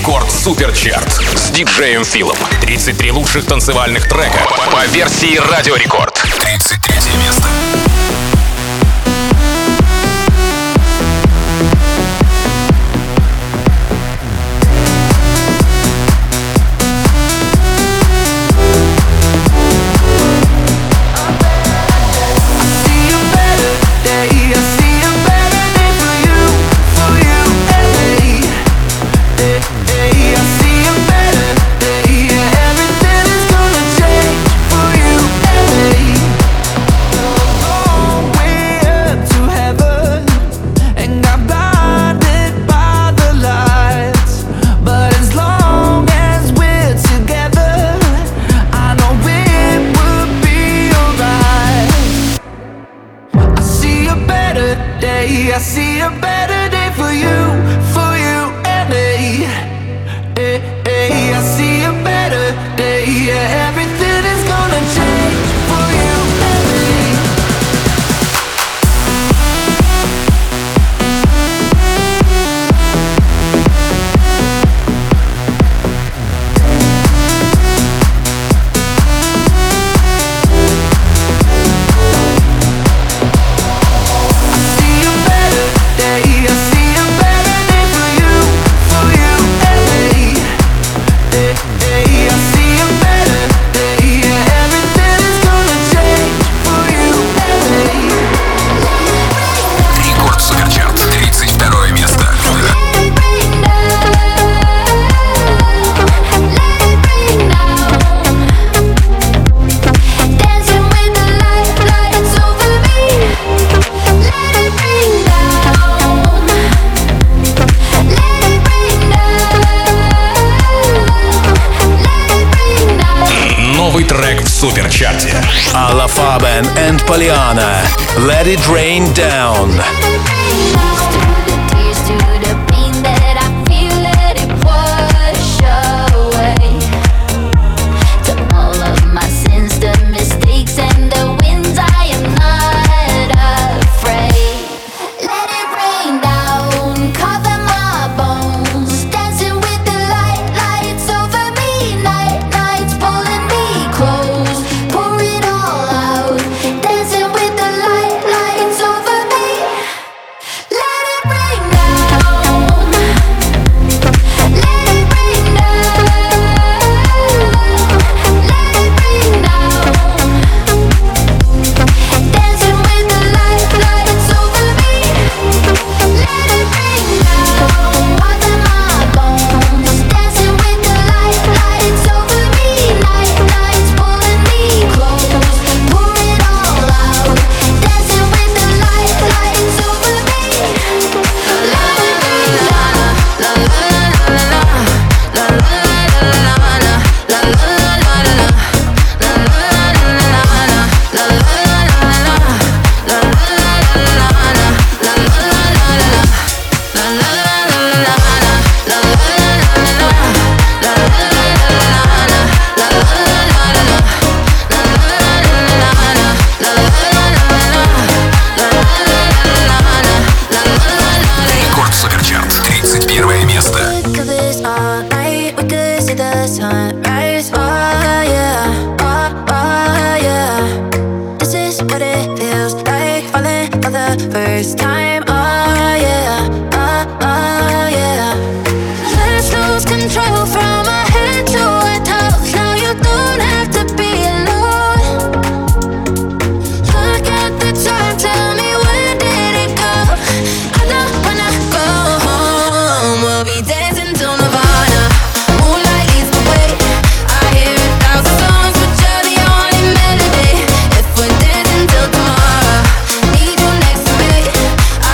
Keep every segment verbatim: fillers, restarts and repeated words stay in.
Рекорд Суперчарт с диджеем Филом. тридцать три лучших танцевальных трека по версии Радио Рекорд. тридцать третье место. I see a better day for you, for you and me. Hey, hey, I see a better day. Yeah, everything is gonna change for you and me. Суперчарте. Alla Faben and Pollyanna, Let It Rain Down. I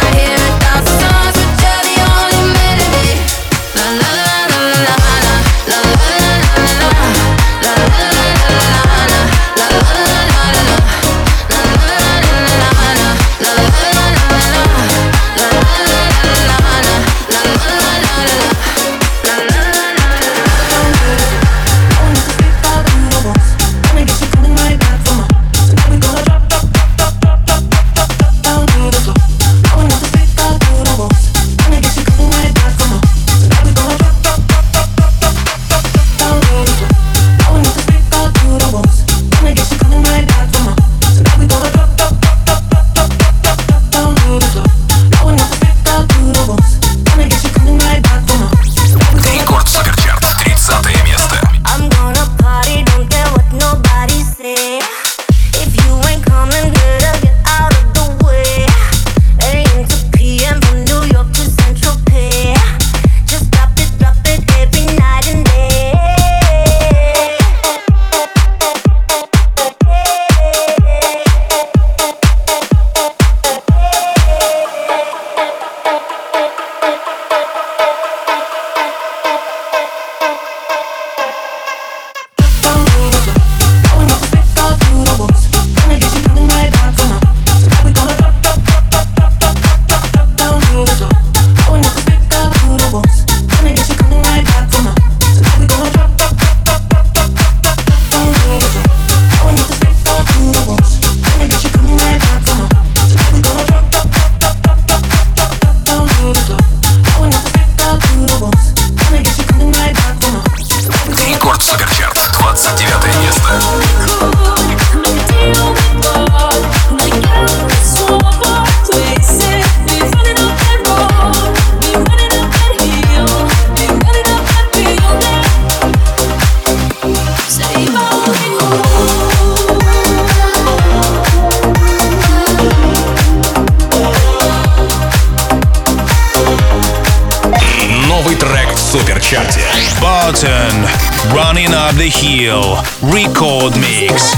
суперчарте. Barton, Running Up the Hill, Record Mix.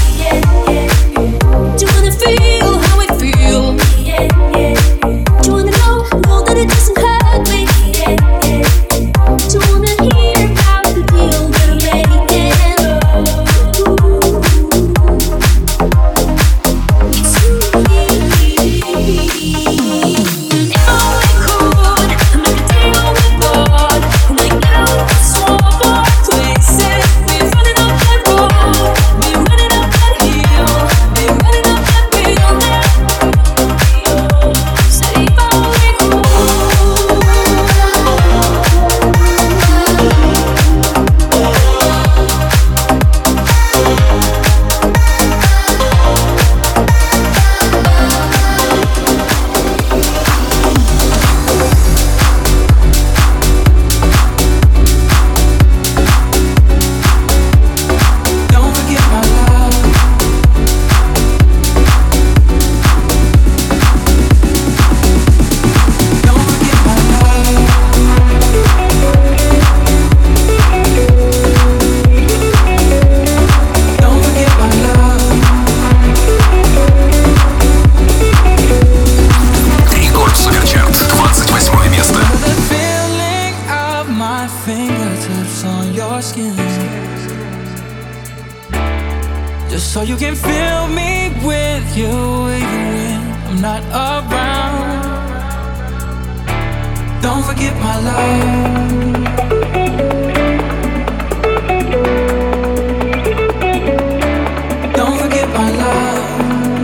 So you can fill me with you even when I'm not around. Don't forget my love. Don't forget my love.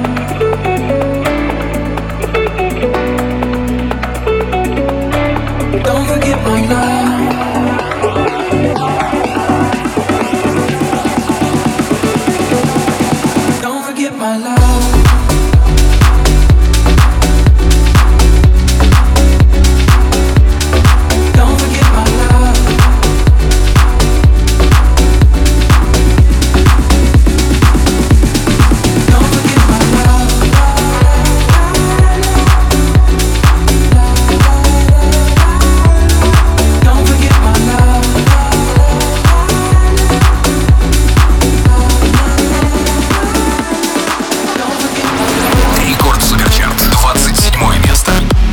Don't forget my love. My love. Don't forget my love. Don't forget my love. Don't forget my love. Рекорд Суперчарт, двадцать седьмое место.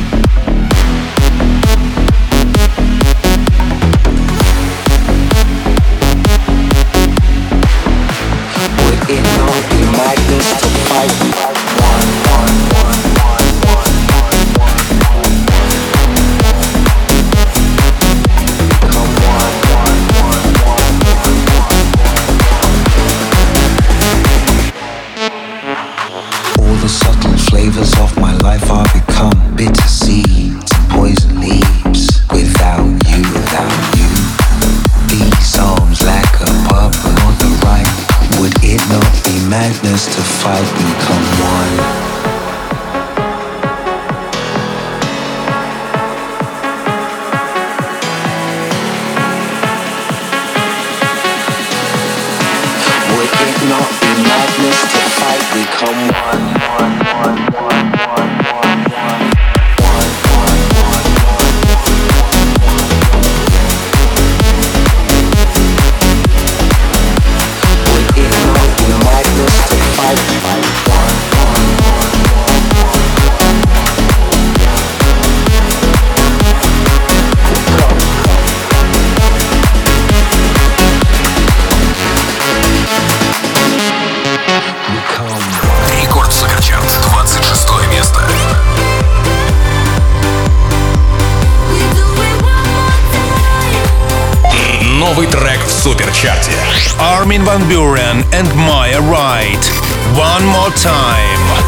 Would it not be madness to fight one, one, one, one, one, one, one, become one, one, one, one, one. All the subtle flavors of my life are become bitter seeds and poison leaves. Without you, without you, these arms lack a purpose on the right. Would it not be madness to fight, become one? Would it not be madness to fight, become one? One, one, one, one, one, one. Рекорд Суперчарт, двадцать шестое место. Новый трек в суперчарте. Armin van Buuren and Maya Wright. One More Time.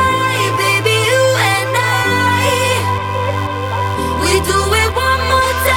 We do it one more time.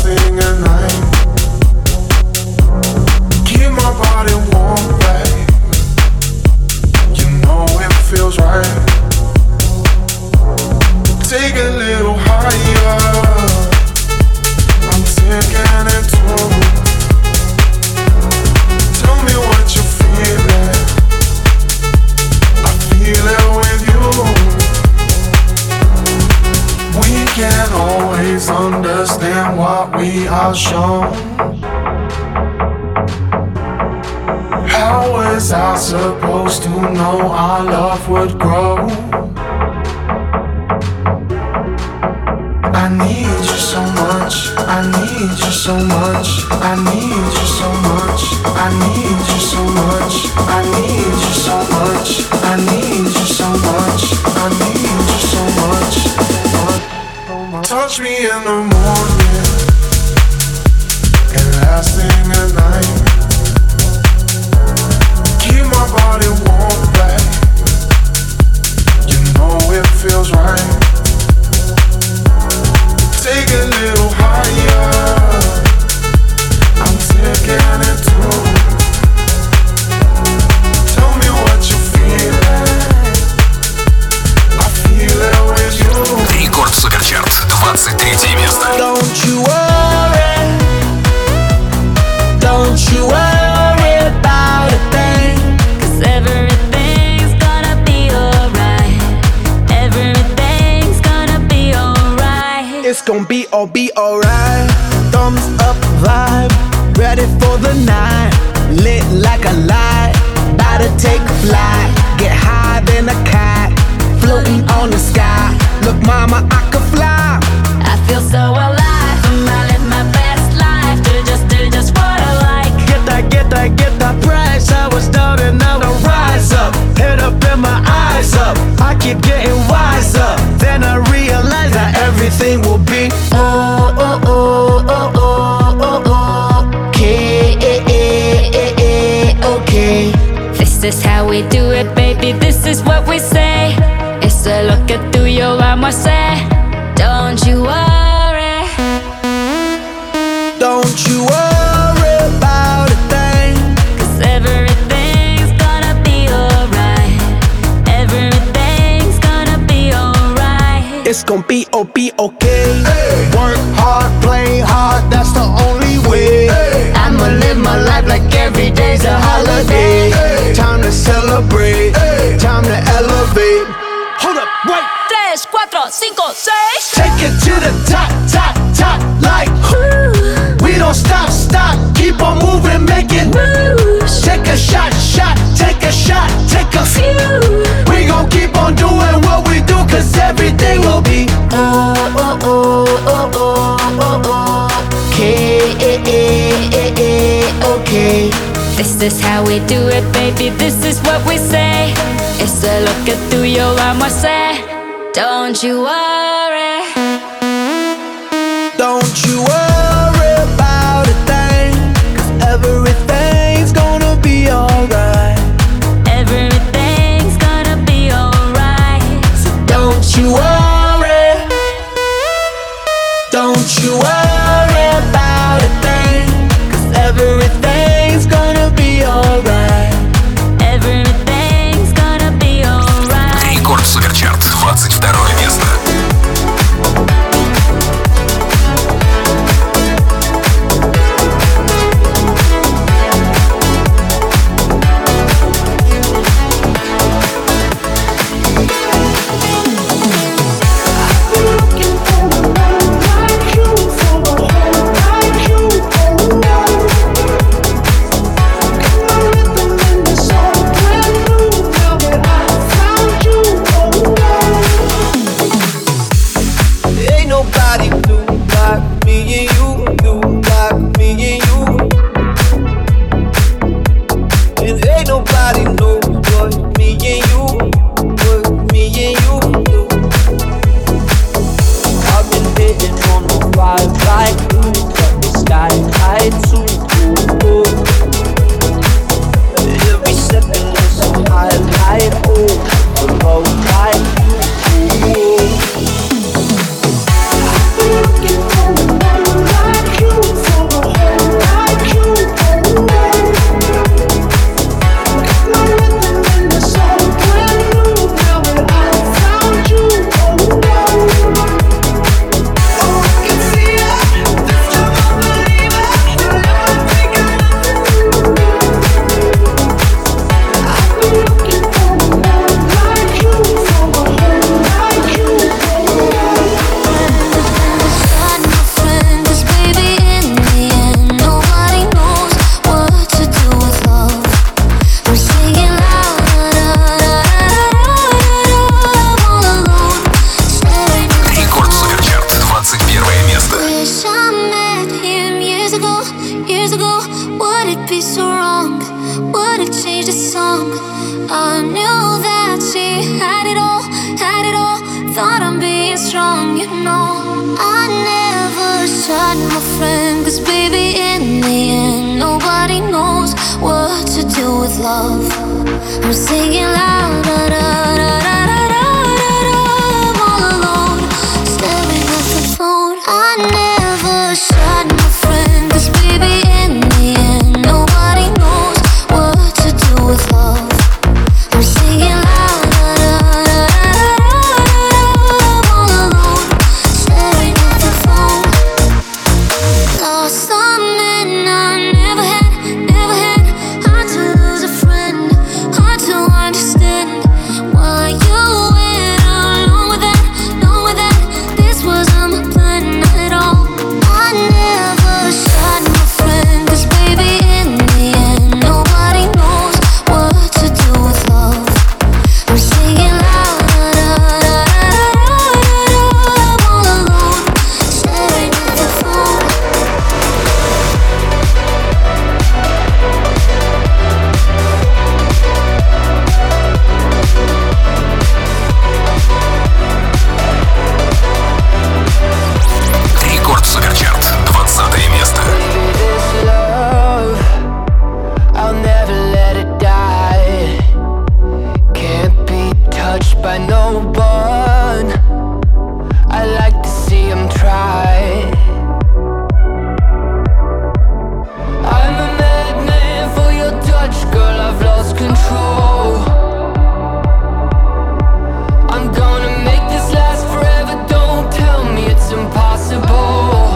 thing at night. Keep my body warm, babe. You know it feels right. Take a little higher. I'm taking it too. Tell me what you're feeling. I feel it with you. We can't always understand what we are shown. How was I supposed to know our love would grow? I need you so much, I need you so much, I need you so much, I need you so much, I need you so much, I need you so much, I need you so much. Touch me in the morning and last thing at night. Keep my body warm, babe. You know it feels right. Take a little higher. I'm taking it too. Tell me what you're feeling. I feel it with you. Рекорд Суперчарт, двадцать третье место. Don't you worry, don't you worry about a thing, 'cause everything's gonna be alright. Everything's gonna be alright. It's gonna be all be alright. Thumbs up vibe, ready for the night. Lit like a light, about to take a flight. Get higher than a cat, floating on the sky. Look mama, I could fly. I feel so alive, I live my best life. Do just, do just what I like. Get that, get that, get that price. I was down and now I rise up. Head up and my eyes up. I keep getting wiser. Then I realize that everything will be oh, oh, oh, oh, oh, oh, oh. Okay, okay. This is how we do it, baby. This is what we say. It's a look at through your armor, say. Don't you worry, don't you worry about a thing, 'cause everything's gonna be alright. Everything's gonna be alright. It's gonna be, oh, be okay. Hey. Work hard, play hard, that's the only way. Hey. I'ma live my life like every day's a holiday. Hey. Time to celebrate, hey. Time to elevate. Hold up, wait. tres, cuatro, cinco, seis. Take it to the top, top, top, like ooh. We don't stop, stop, keep on moving, make it moves. Take a shot, shot, take a shot, take a few. We gon' keep on doing what we do, 'cause everything will be oh, oh, oh, oh, oh, oh, oh. Okay, okay. This is how we do it, baby, this is what we say. It's a look at through your armor, say. Don't you worry, don't you worry about a thing, 'cause everything's gonna be alright. Everything's gonna be alright. So don't you worry, don't you worry about a thing, 'cause everything's gonna be alright. Everything's gonna be alright. Рекорд Суперчарт, двадцать второе место. strong, you know. I never shot my friend, cause baby in the end nobody knows what to do with love. I'm singing loud, da da da da da da da. I'm all alone, staring at the phone. I never shot my friend, cause baby in the end nobody knows what to do with love. I'm singing loud, da da da da da. I'm all alone, staring at the phone. Lost some men I never had, never had. Hard to lose a friend, hard to understand why you went along with that, along with that. This wasn't my plan at all. I never shot my friend, cause baby in the end nobody knows what to do with love. I'm singing loud, da da da da da. I'm all alone, staring at the phone. Рекорд Суперчарт, двадцатое место. This love, I'll never let it die. Can't be touched by no one. I like to see him try. I'm a madman for your touch, girl, I've lost control. I'm gonna make this last forever, don't tell me it's impossible.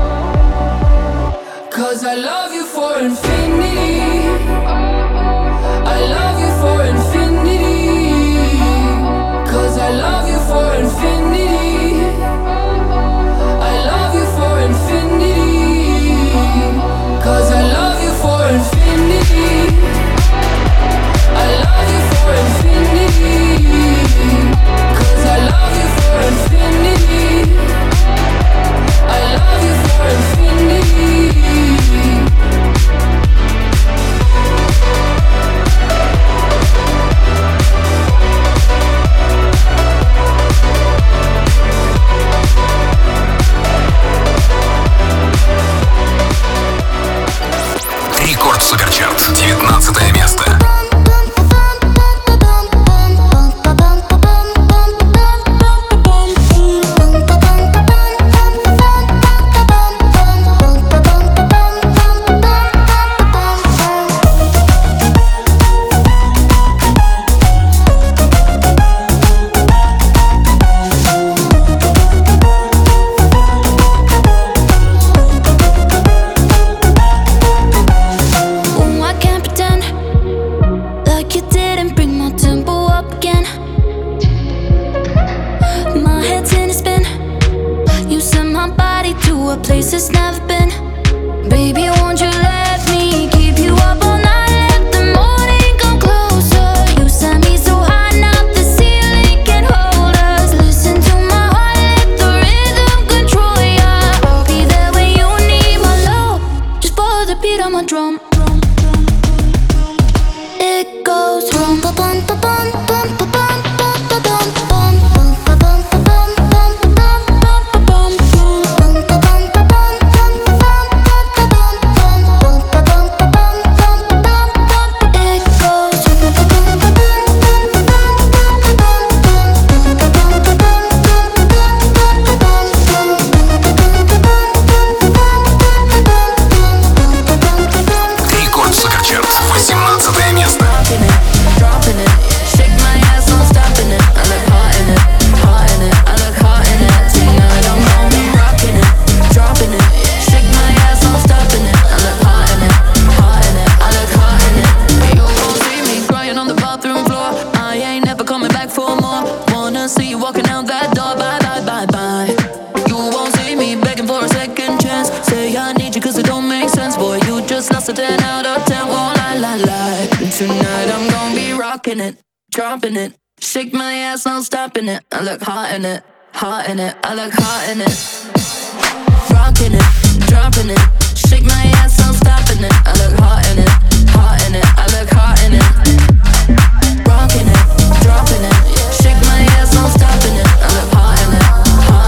Cause I love you for infinity. I love you for infinity. Cause I love you for infinity. I love you for infinity. Cause I love you for infinity. I love you for infinity. Cause I love you for infinity. I love you for infinity. Рекорд Суперчарт, девятнадцатое место. Oh, I can't pretend like you didn't bring my tempo up again. My head's in a spin. You sent my body to a place it's never been. Baby, won't you let me keep you up all night? Let the morning come closer. You sent me so high, now the ceiling can hold us. Listen to my heart, let the rhythm control ya. I'll be there when you need my love. Just follow the beat on my drum. It goes rum pa bum pa bum bum pa bum bum pa bum bum bum pa bum pa bum bum pa bum bum pa bum bum pa bum pa bum bum pa bum pa bum bum pa bum pa bum bum pa bum. It goes rum pa bum pa bum bum pa bum pa bum bum pa bum pa bum bum pa bum pa bum Рекорд Суперчарт, восемнадцатое место. Dropping it, shake my ass, no stopping it. I look hot in it, hot in it. I look hot in it. Tonight I'm gonna be rocking it, dropping it. Shake my ass, no stopping it. I look hot in it, hot in it. I look hot in it. You won't see me crying on the bathroom floor. I ain't never coming back for more. Wanna see you walking out that door. Bye bye bye bye. You won't see me begging for a second chance. Say I need you 'cause it don't make sense. Boy, you just lost a ten out of ten. Won't lie, lie, lie. Tonight I'm gonna be rocking it, dropping it. Shake my ass, no stopping it. I look hot in it, hot in it. I look hot in it. Rocking it, dropping it. Shake my ass, no stopping it. I look hot in it, hot in it. I look hot in it. Rocking it, dropping it. Shake my ass, no stopping it. I look hot in it, hot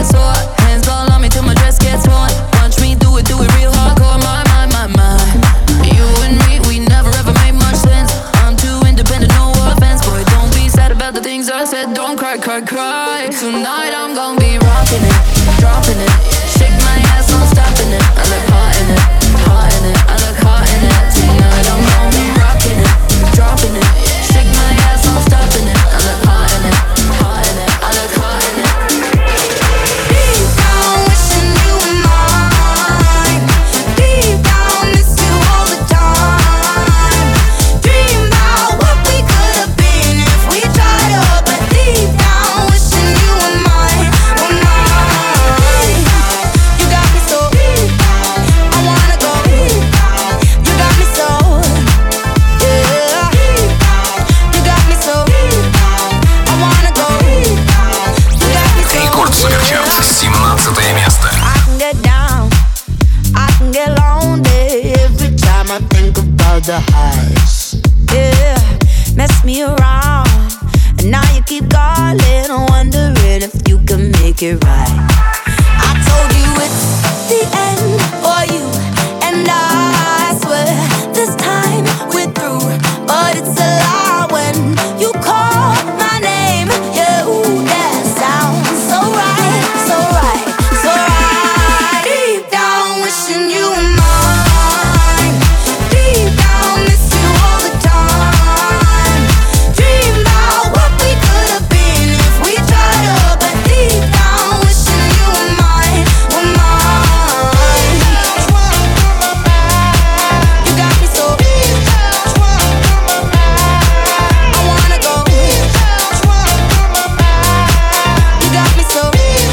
get sore. Hands all on me till my dress gets torn. Watch me do it, do it real hardcore. My, my, my, my. You and me, we never ever made much sense. I'm too independent, no offense. Boy, don't be sad about the things I said. Don't cry, cry, cry. Tonight I'm gonna be rocking it, dropping it. Shake my ass, I'm stopping it. I look hot in it, hot in it. I look hot in it. Tonight I'm gonna be rocking it, dropping it. Shake my ass, I'm stopping it. I look hot in it, hot in it. I look hot in it. Deep down, wishing you were mine. Deep down, miss you all the time. Dream about what we could have been if we tried up. But deep down, wishing you were mine, were mine. You got me so, I wanna go. You got me so, yeah. You got me so, I wanna go. You got me so, Рекорд Суперчарт, семнадцатое место. I can get down, I can get lonely every time I think about the highs. Yeah, mess me around, and now you keep calling, wondering if you can make it right. I told you it's the end for you, and I swear this time we're through. But it's a lie when you call my name. Yeah, ooh, that sounds so right, so right, so right. Deep down, wishing you were mine. Deep down, miss you all the time. Dream about what we could have been if we tried up. But deep down, wishing you were mine, were mine. You got me so, I wanna go. You got me so,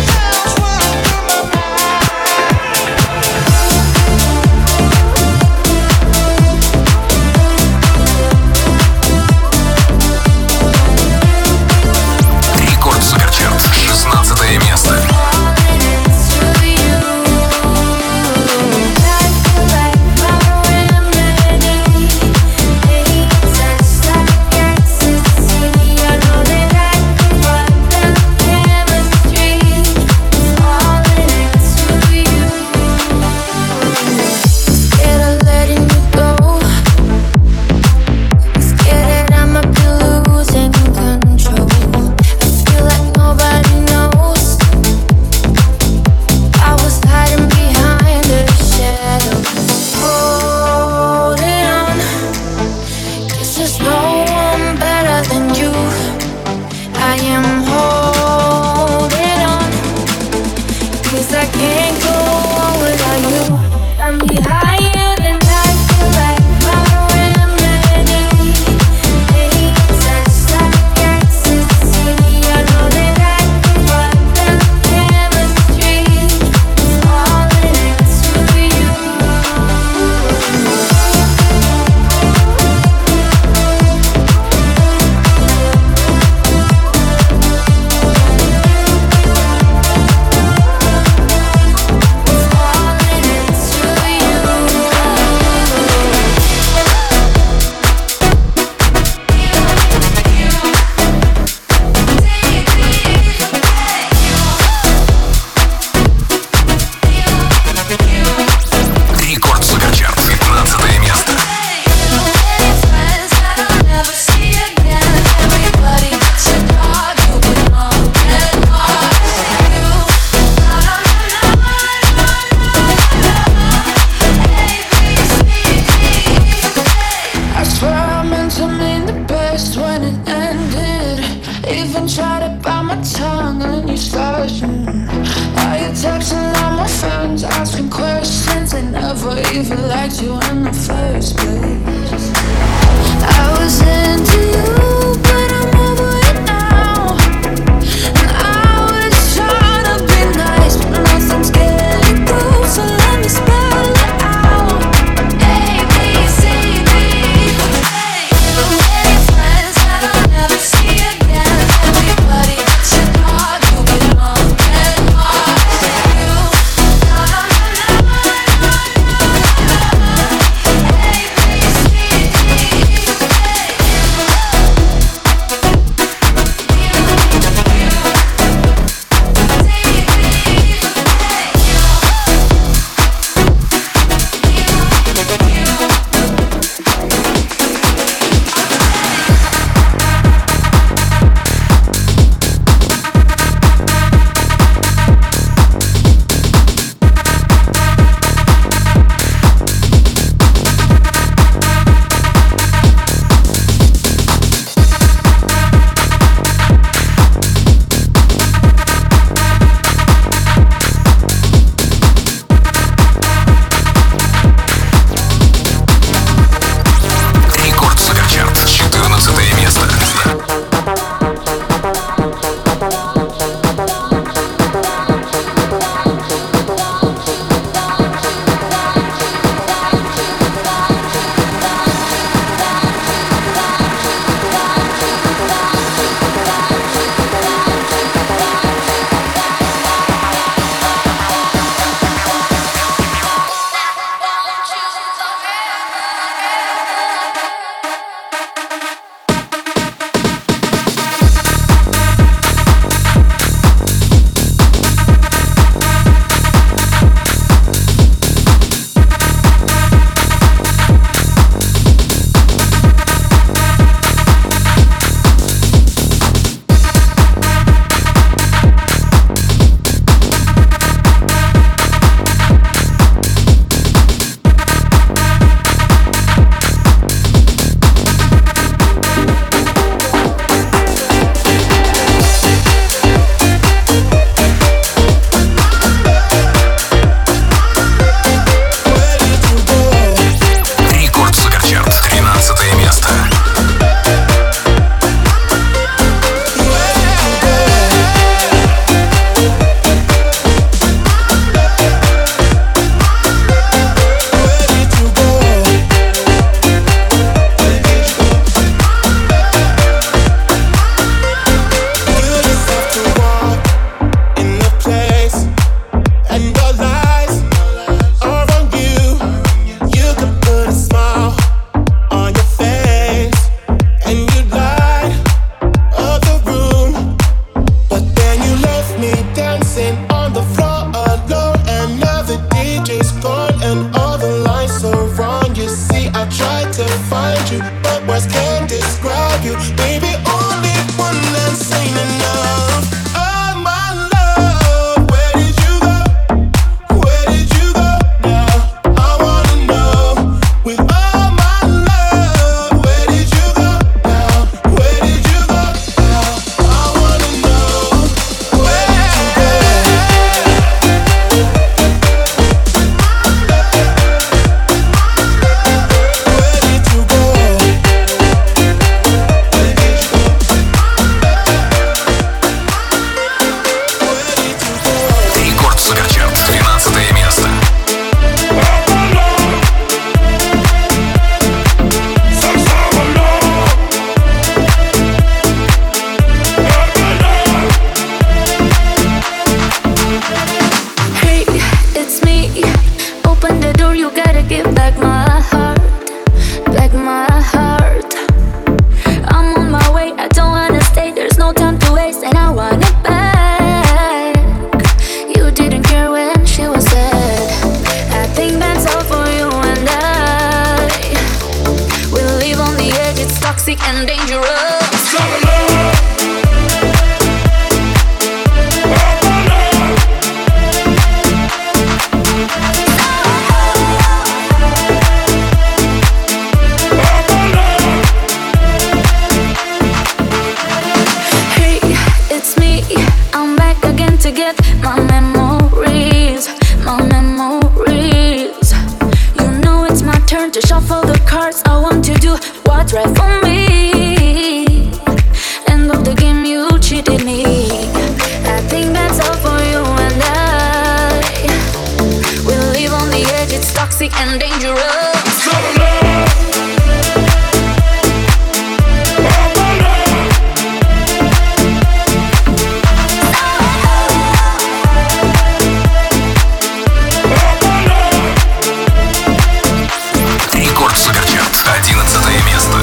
Рекорд Суперчарт, шестнадцатое место. scared of letting you go. Scared that I might be losing control. I feel like nobody knows. I was hiding behind the shadows, holding on. 'Cause there's no one better than you. I am holding on. 'Cause I can't go on without you. I'm higher than I feel like my remedy. It's just like ecstasy. I know that I can find the chemistry. It's all into you. Рекорд Суперчарт, пятнадцатое место. I swear I meant to mean the best when it ended. Even tried to bite my tongue and you started. Now you're texting all my friends, asking questions. They never even liked you in the first place. I was into you, but I'm over it now. And I was trying to be nice, but nothing's getting through. So let me spell it out. A, B, C, D. The way friends that I'll never see again. Everybody that you thought you belong and lost you. dancing on the floor alone, and now the D J's gone and all the lights are wrong. You see, I tried to find you, but words can't describe you. Baby, only one dance ain't enough. Oh my love, where did you go? Where did you go now? I wanna know. With all my love, where did you go now? Where did you go now? I wanna know. Where did you go? Рекорд Суперчарт, двенадцатое место. Hey, it's me. Open the door, you gotta give back my heart. Back my heart. I'm on my way, I don't wanna stay. There's no time to waste, and I want it back. You didn't care when she was sad. I think that's all for you and I. We live on the edge, it's toxic and dangerous. Hey, it's me. I'm back again to get my memories, my memories. You know it's my turn to shuffle the cards. I want to do what's right for me. End of the game, you cheated me. I think that's all for you and I. We live on the edge, it's toxic and dangerous. Рекорд Суперчарт, одиннадцатое место.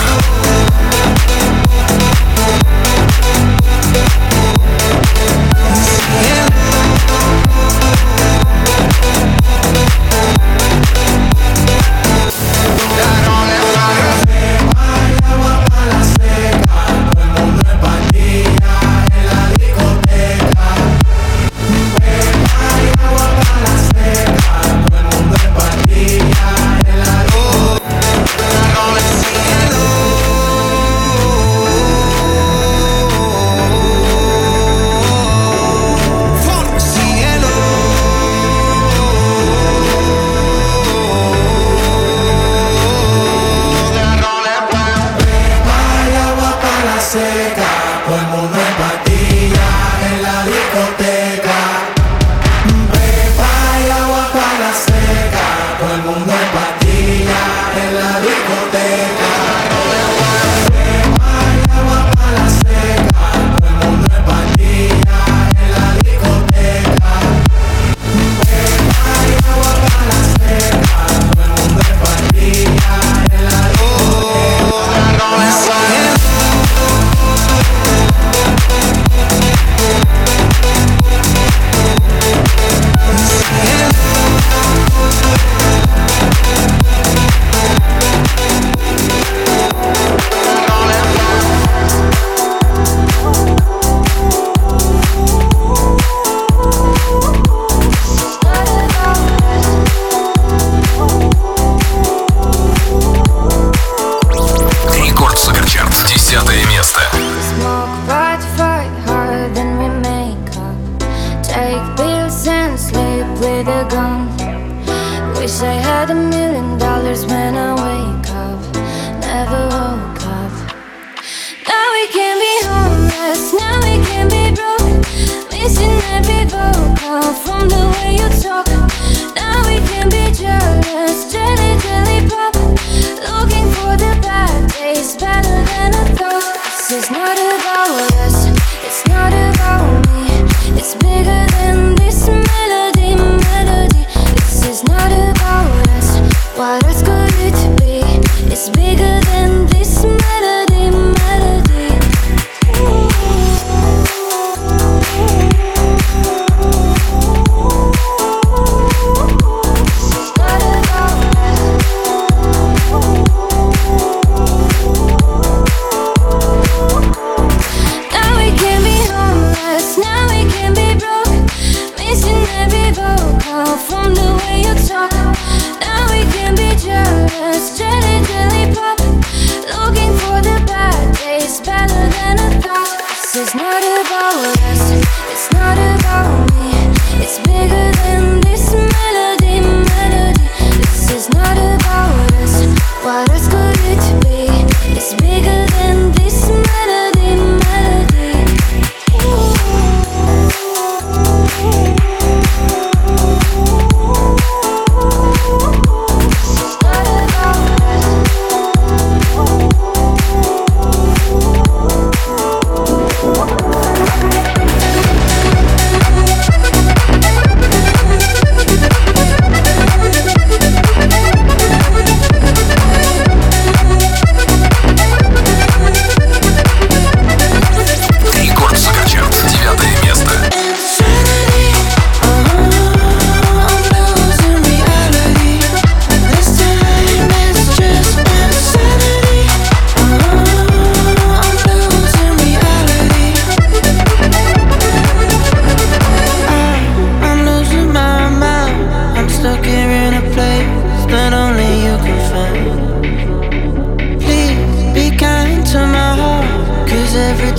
Рекорд Суперчарт, десятое место. Smoke, fight, fight harder than we make up. Take pills and sleep with a gun. Wish I had a million dollars when I wake up. Never woke up. Now we can be homeless, now we can be broke. Missing every vocal from the way you talk. Now we can be jealous, jelly, jelly pop. Looking for the bad days, better than I thought. This is not about us, it's not about me. It's bigger than this melody, melody. This is not about us, what else could it be? It's bigger than this melody.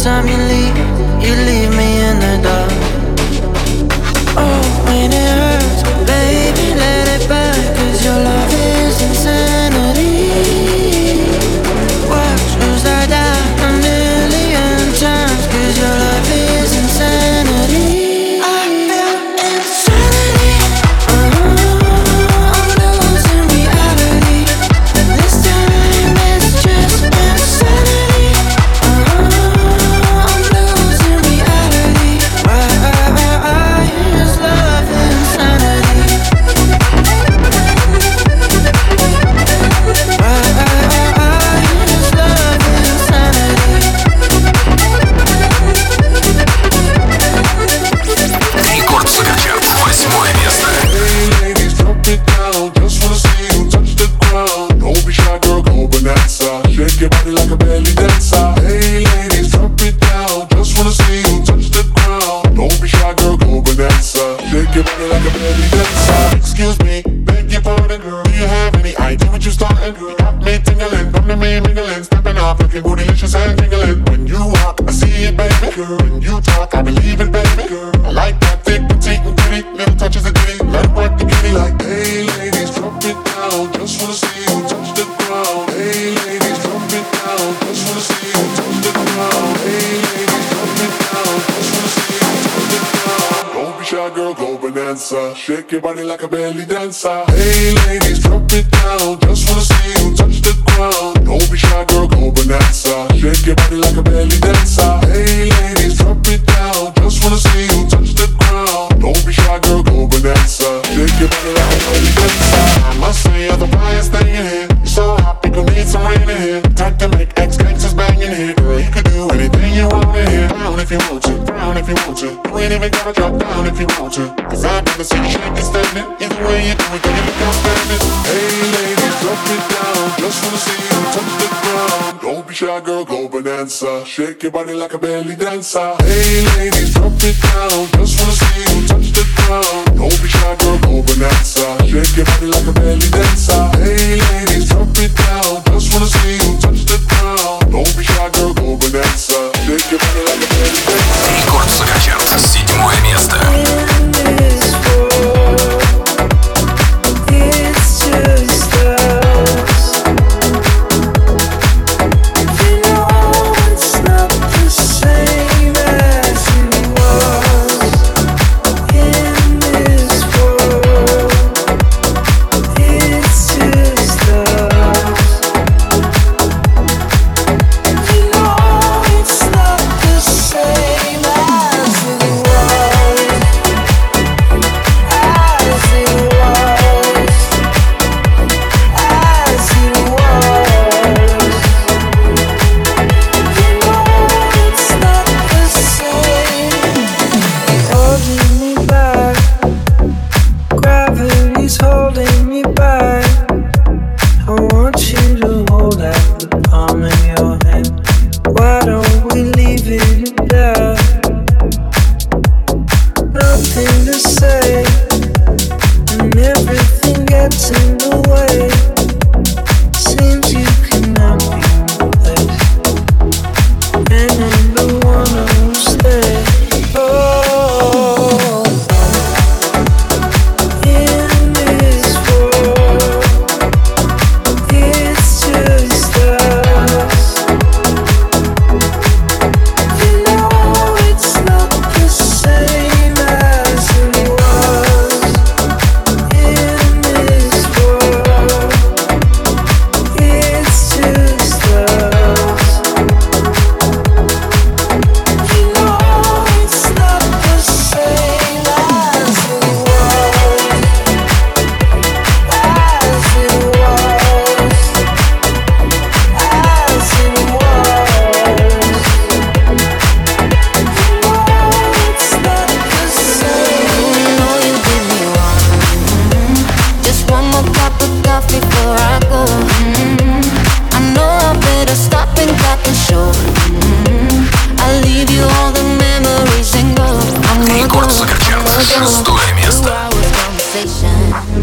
time you leave, you leave me in the dark. Oh, when it hurts, baby, let it back, 'cause your love is insanity. Watch as I die a million times, 'cause your love is insanity. I feel insanity. Uh-huh. I'm losing reality. This time it's just insanity. Uh-huh. I'm losing reality. Why, why, why, why is love insanity? Why, why, why, why is love insanity? Рекорд Суперчарт, восьмое место. Hey ladies, drop it down. Just wanna see you touch the ground. Don't be shy, girl, go bonanza. Shake your body like a belly dancer. Hey ladies, drop it down. Just wanna see you touch the ground. Don't be shy, girl, go bonanza. Shake your body like a belly dancer. Excuse me, beg your pardon, girl. Do you have any idea what you starting, girl? Got me tingling, come to me mingling, stepping off, looking bootylicious and tingling. When you walk, I see it, baby, girl. When you talk, I believe it, baby, girl. I like that thick, petite, and pretty. Little touches of ditty, let it work the kitty like. Hey ladies, drop it down. Just wanna see you touch the ground. Hey ladies, drop it down. Just wanna see you touch the ground. Hey ladies, drop it down. Just wanna see you touch the ground. Don't be shy, girl, go bonanza. Shake your body like a belly dancer. Hey ladies, drop it down. Just wanna see you touch the ground. Don't be shy, girl, go bonanza. Shake your body like a belly dancer. Hey ladies, drop it down. Just wanna see you touch the ground. Don't be shy, girl, go bonanza. Shake your body like a belly dancer. I must say you're the brightest thing in here. You're so hot, people need some rain in here. Time to make ex-gangsters bang in here. Girl, you could do anything you want in here. Down if you want to, down if you want to. You ain't even gotta drop down if you want to. 'Cause I've never seen you shake and stand it. Either way you do it, girl, you look outstanding. Hey ladies, drop it down. Just wanna see you touch the ground. Don't be shy, girl, go bonanza. Shake your body like a belly dancer. Hey ladies, drop it down. Just wanna see you touch the ground. Don't be shy, girl, go bonanza. Shake your body like a belly dancer. Hey ladies, drop it down. Just wanna see you touch the ground. Don't be shy, girl, go bonanza. Shake your body like a belly dancer. Рекорд Суперчарт, седьмое место.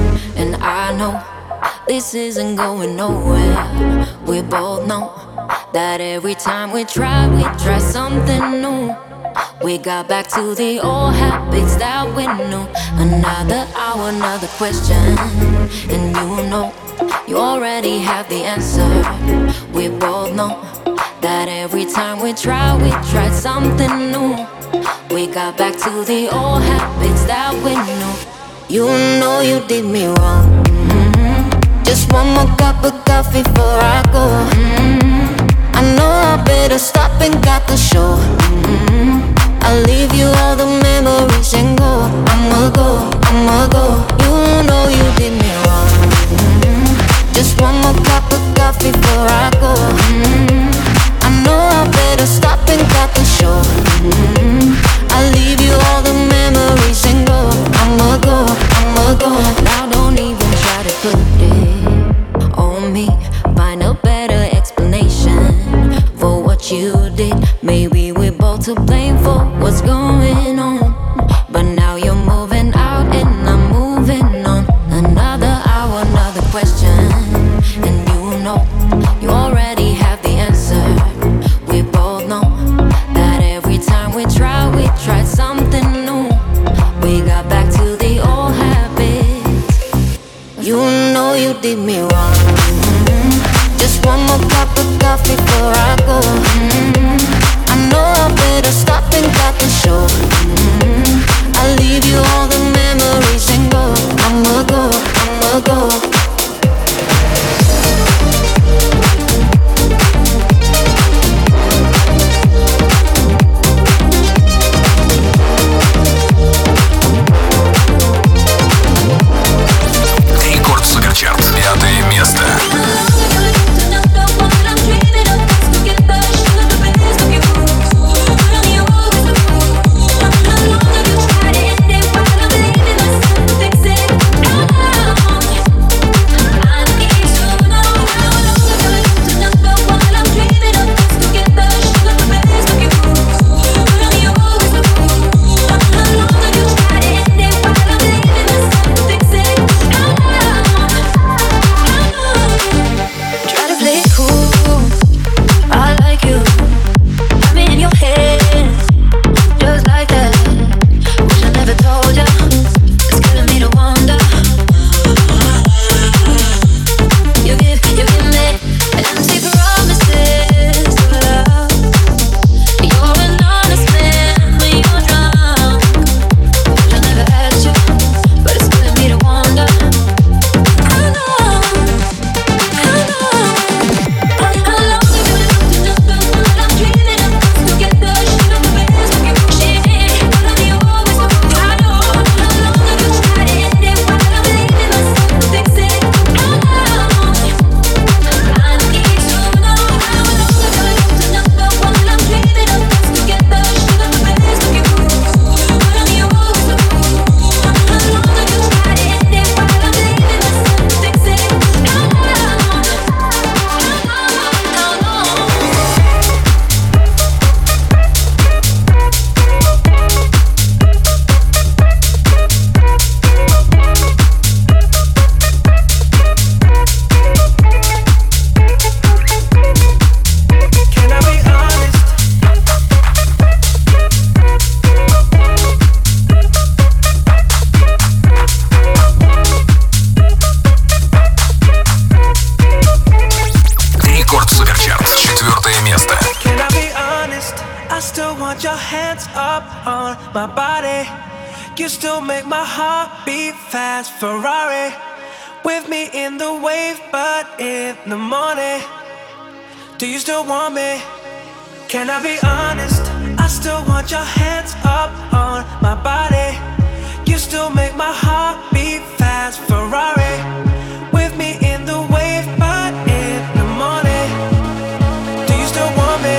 This isn't going nowhere. We both know that every time we try, we try something new. We got back to the old habits that we knew. Another hour, another question, and you know, you already have the answer. We both know that every time we try, we try something new. We got back to the old habits that we knew. You know you did me wrong. Mm-hmm. Just one more cup of coffee before I go. Mm-hmm. I know I better stop and got the show. Mm-hmm. I'll leave you all the memories and go. I'ma go, I'ma go. You know you did me wrong. Mm-hmm. Just one more cup of coffee before I go. Mm-hmm. I know I better stop and got the show. Mm-hmm. I'll leave you all the memories and go. I'ma go, I'ma go. Now don't even try to put it on me. Find a better explanation for what you did. Maybe we're both to blame for what's going on. But now you're moving out and I'm moving on. Another hour, another question, and you know, you already have the answer. We both know that every time we try, we try something new. We got back to the old habits. You know you did me wrong. Mm-hmm. Just one more cup of coffee before I go. Mm-hmm. I know I better stop and got the show. Mm-hmm. I'll leave you all the memories and go. I'ma go, I'ma go. Рекорд Суперчарт, пятое место. You still make my heart beat fast. Ferrari with me in the wave, but in the morning, do you still want me? Can I be honest? I still want your hands up on my body. You still make my heart beat fast. Ferrari with me in the wave, but in the morning, do you still want me?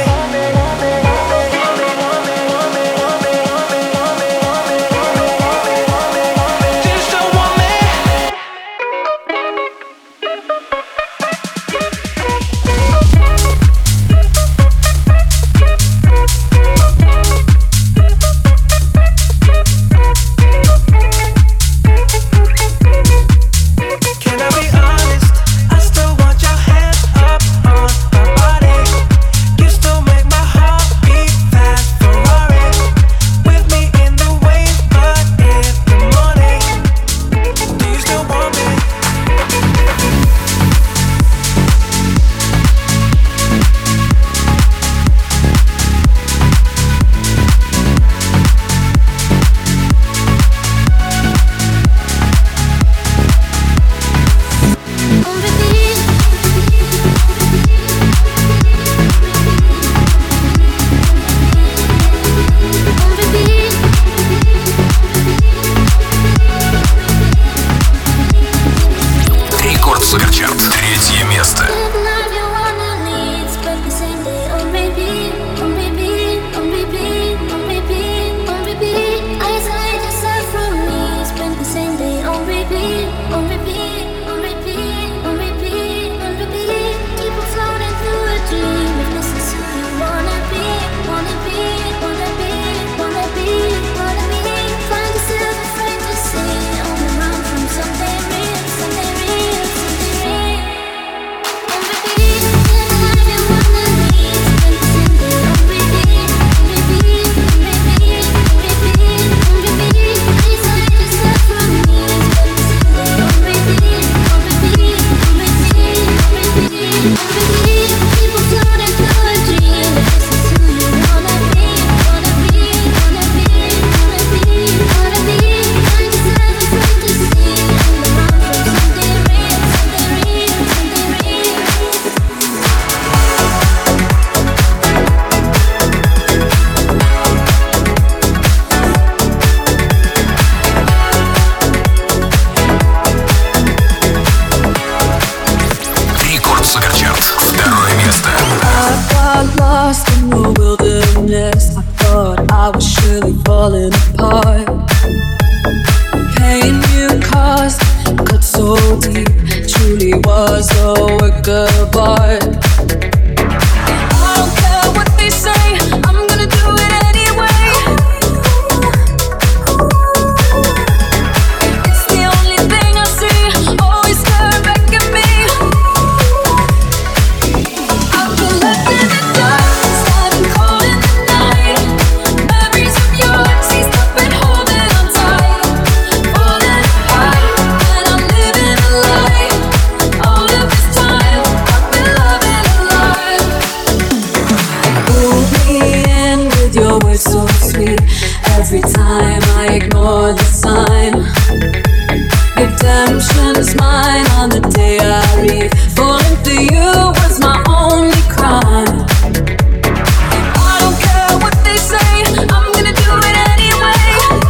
was mine on the day I leave. Falling for you was my only crime. I don't care what they say, I'm gonna do it anyway.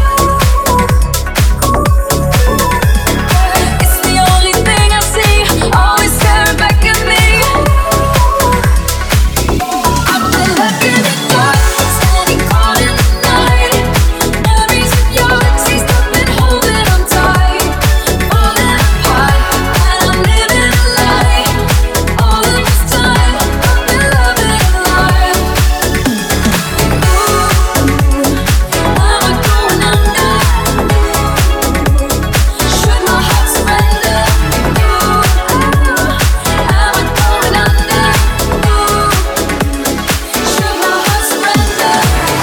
It's the only thing I see, always staring back at me. I've been left in the dark, standing caught in the night. Memories of your taste, I've been holding on tight. Falling apart, and I'm living a lie. All of this time, I've been loving a lie. Ooh, am I going under? Should my heart surrender? Ooh, am I going under? Ooh, should my heart surrender?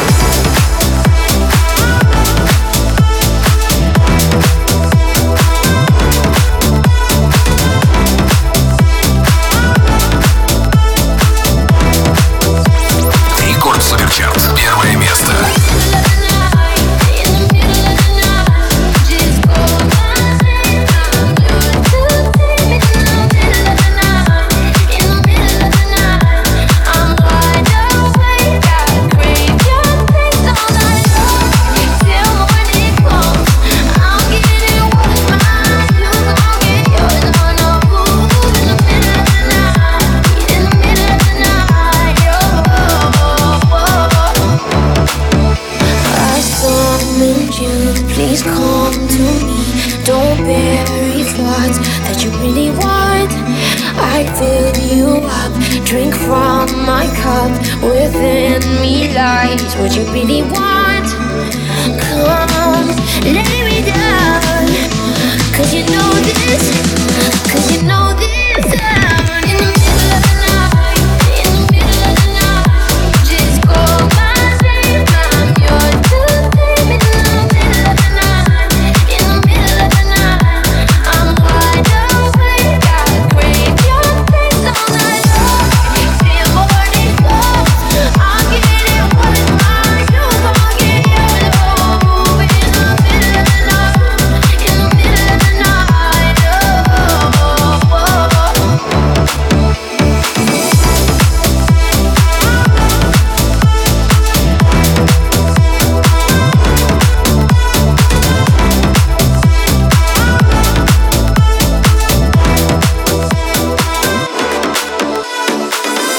Рекорд Суперчарт. Первое место. I summoned you, please come to me. Don't bury thoughts that you really want. I fill you up, drink from my cup. Within me lies what you really want. Come, lay me down.